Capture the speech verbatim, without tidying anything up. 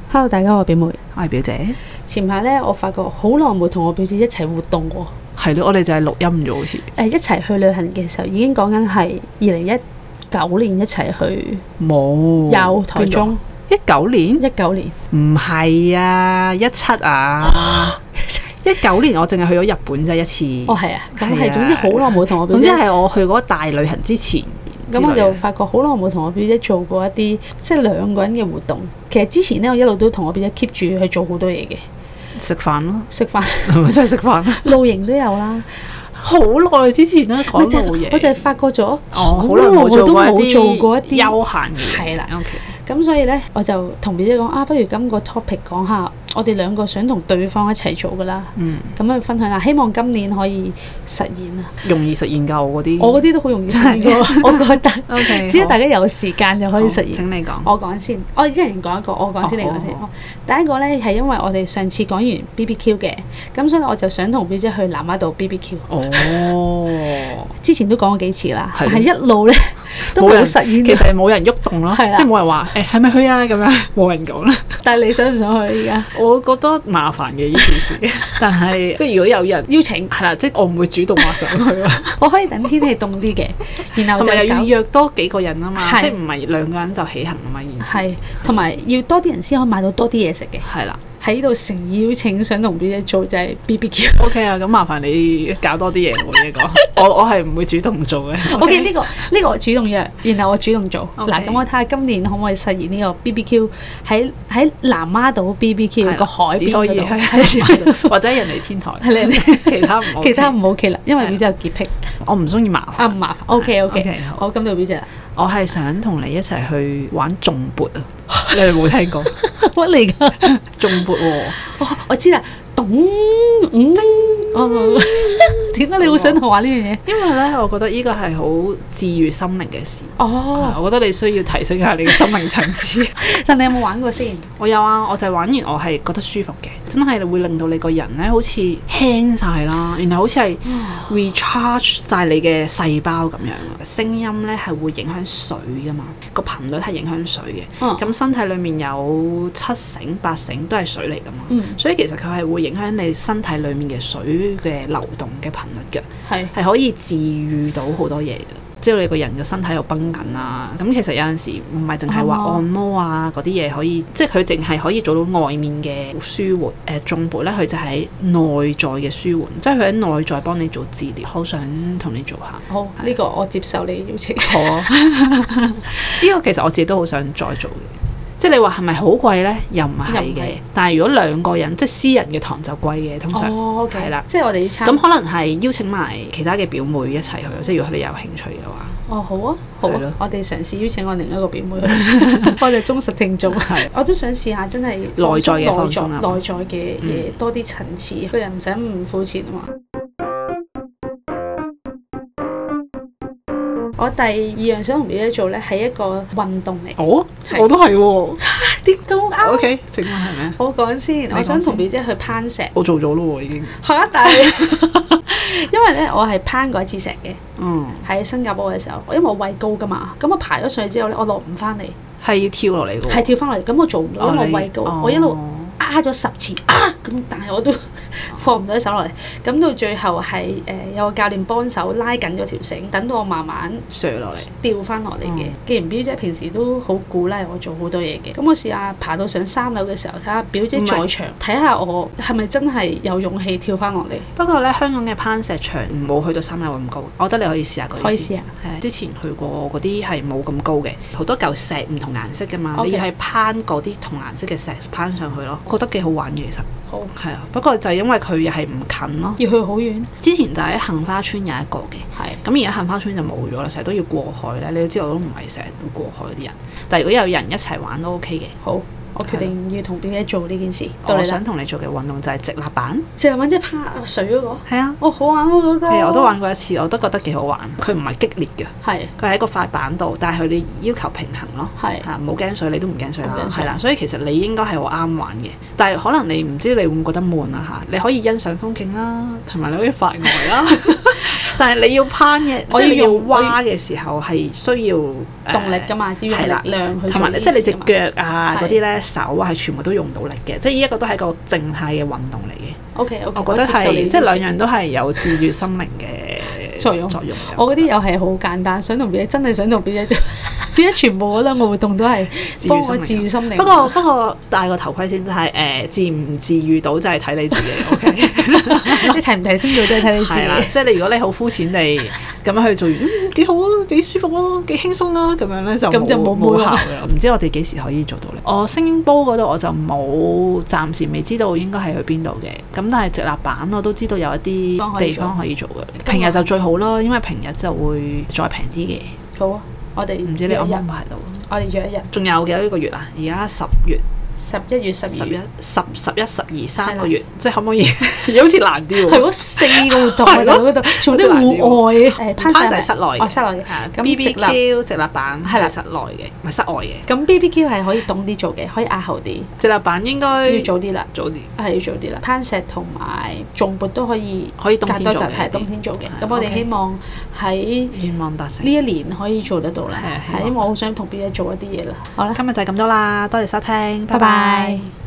Hello， 大家好，我係表妹， 我係表姐。 前排咧，我發覺好耐冇同我表姐一齊活動喎。 係咯，我哋就係錄音咗好似。 誒，一齊去旅行嘅時候，已經講緊係二零一九年一齊去。 冇。 有台中。 一九年？ 一九年。 唔係啊，一七啊。一九年我淨係去咗日本啫一次。 哦，係啊。咁係，總之好耐冇同我表姐。 總之係我去嗰個大旅行之前。 咁我就發覺好耐冇同我表姐做過一啲即係兩個人嘅活動。其實之前咧，我一路都同我表姐 keep 住去做好多嘢嘅。食飯咯， 食飯係咪真係食飯？ 露營都有啦， 好耐之前啦，講露營。 我就係發覺咗， 哦，好耐冇做過一啲休閒嘅。 係啦 ，OK。咁所以咧，我就同表姐講啊，不如今個 topic 講下我哋兩個想同對方一齊做噶啦。嗯。咁去分享下，希望今年可以實現啊。容易實現㗎，我嗰啲。我嗰啲都好容易實現㗎，我覺得。OK。只要大家有時間就可以實現。請你講。我講先，我一人講一個，我講先，你講先。第一個咧係因為我哋上次講完 B B Q 嘅，咁所以我就想同表姐去南丫島 B B Q。哦。之前都講過幾次啦，但係一路咧都冇實現。其實係冇人喐動咯，即係冇人話誒係咪去啊咁樣，冇人講啦。但係你想唔想去而家？我覺得麻煩嘅呢件事，但係即係如果有人邀請，係啦，即係我唔會主動話想去咯。我可以等天氣凍啲嘅，然後就又要約多幾個人啊嘛，即係唔係兩個人就起行啊嘛，件事。係，同埋要多啲人先可以買到多啲嘢食嘅。係啦。喺呢度誠意邀請想同表姐做就係 B B Q。O K 啊，咁麻煩你搞多啲嘢喎呢個。我我係唔會主動做嘅。O K 呢個呢個我主動約，然後我主動做。嗱，咁我睇下今年可唔可以實現呢個 B B Q 喺喺南丫島 B B Q 個海邊嗰度，或者人哋天台。係你其他唔 OK。其他唔 OK 啦，因為表姐有潔癖。我唔中意麻煩。啊唔麻煩。O K O K。好，咁到表姐啦。我係想同你一齊去玩頌缽啊！你哋冇聽過乜嚟㗎？頌缽喎，我知啦，咚五哦，點解你會想同我玩呢樣嘢？因為咧，我覺得呢個係好治癒心靈嘅事。哦，我覺得你需要提升下你嘅心靈層次。但你有冇玩過先？我有啊，我就係玩完，我係覺得舒服嘅，真係會令到你個人咧好似輕晒啦，然後好似係 recharge 晒你嘅細胞咁樣。聲音咧係會影響水㗎嘛，個頻率係影響水嘅。咁、哦、身體裡面有七成八成都係水嚟㗎嘛，嗯、所以其實佢係會影響你身體裡面嘅水嘅流動嘅頻率嘅，係係可以治癒到好多嘢嘅。知道你個人嘅身體又繃緊啊，咁其實有陣時唔係淨係話按摩啊嗰啲嘢可以，即係佢淨係可以做到外面嘅舒緩。誒頌缽咧，佢就喺內在嘅舒緩，即係佢喺內在幫你做治療。好想同你做下。好，呢是個我接受你邀請。好啊，呢個其實我自己都好想再做嘅。即係你話係咪好貴咧？又唔係嘅。但係如果兩個人，即係私人嘅堂就貴嘅，通常係啦。即係我哋要參咁可能係邀請埋其他嘅表妹一齊去。即係如果你有興趣嘅話。哦，好啊，好啊，我哋嘗試邀請我另一個表妹。我哋忠實聽眾。係。我都想試下真係內在嘅放鬆啊，內在嘅嘢多啲層次，個人唔使咁膚淺啊嘛。我第二樣想同表姐做咧係一個運動嚟。哦，我都係喎。點咁啱 ？O K，請問係咩？我講先，我想同表姐去攀石。我做咗咯喎，已經。嚇！但係因為咧，我係攀過一次石嘅。嗯。喺新加坡嘅時候，因為我畏高㗎嘛，咁我爬咗上去之後咧，我落唔翻嚟。係要跳落嚟㗎喎。係跳翻落嚟，咁我做唔到，因為我畏高，我一路壓咗十次啊！咁但係我都放唔到手落嚟，咁到最後係誒、呃、有個教練幫手拉緊咗條繩，等到我慢慢瀡落嚟，掉翻落嚟嘅。嗯、既然表姐平時都好鼓勵我做好多嘢嘅，咁我試下爬到上三樓嘅時候，睇下表姐在場，睇下我係咪真係有勇氣跳翻落嚟。不過咧，香港嘅攀石場冇去到三樓咁高，我覺得你可以試下嗰啲。可以試下。係之前去過嗰啲係冇咁高嘅，好多嚿石唔同顏色㗎嘛，Okay. 你要係攀嗰啲同顏色嘅石攀上去咯，覺得幾好玩嘅其實。好係啊，不過就係因為佢又係唔近咯，要去好遠。之前就喺杏花村有一個嘅，係咁而家杏花村就冇咗啦，成日都要過海咧。你都知道我都唔係成日都過海嗰啲人，但係如果有人一齊玩都 OK 嘅。好。我決定要同表姐做呢件事。我想同你做嘅運動就係直立板。直立板即係趴水嗰個？係啊。哦，好玩喎嗰個。係啊，我都玩過一次，我都覺得幾好玩。佢唔係激烈嘅。係。佢喺個塊板度，但係佢哋要求平衡咯。係。嚇，冇驚水，你都唔驚水啦。係啦，所以其實你應該係好啱玩嘅。但係可能你唔知你會唔會覺得悶啊嚇？你可以欣賞風景啦，同埋你可以發呆啦。 但係你要攀嘅，即係你要挖嘅時候係需要動力㗎嘛，要用力量去。 同埋即係你隻腳啊嗰啲咧，手啊係全部都用到力嘅，即係呢一個都係一個靜態嘅運動嚟嘅。 O K O K， 我覺得係即係兩樣都係有治愈心靈嘅作用。作用我嗰啲又係好簡單，想同 B 姐真係想同 B 姐做，B 姐全部嗰兩個活動都係幫我治愈心靈。 不過不過戴個頭盔先，就係誒治唔治愈到就係睇你自己。O K， 你提唔提升到都係睇你自己。 即係你如果你好膚淺地咁樣去做完，嗯幾好啊，幾舒服啊，幾輕鬆啊，咁樣咧就咁就冇冇效嘅。唔知我哋幾時可以做到咧？我聲波嗰度我就冇，暫時未知道應該係去邊度嘅。咁但係直立板我都知道有一啲地方可以做嘅。平日就最好啦，因為平日就會再平啲嘅。 好啊，我哋唔知你安唔安排到？ 我哋約一日。仲有幾多個月啊？而家十月。 十一月、十二月、 十、十一、十二三個月，即係可唔可以？好似難啲喎。 係嗰四個活動喺嗰度，做啲戶外誒攀石室內嘅，室內嘅。咁 B B Q 直立板係室內嘅，唔係室外嘅。 咁 B B Q 係可以凍啲做嘅，可以壓後啲。 直立板應該要早啲啦， 早啲係要早啲啦。攀石同埋重撥都可以， 可以冬天做嘅， 係冬天做嘅。咁我哋希望喺願望達成呢一年可以做得到啦。係因為我好想同 B 姐做一啲嘢啦。好啦， 今日就係咁多啦，多謝收聽，拜拜。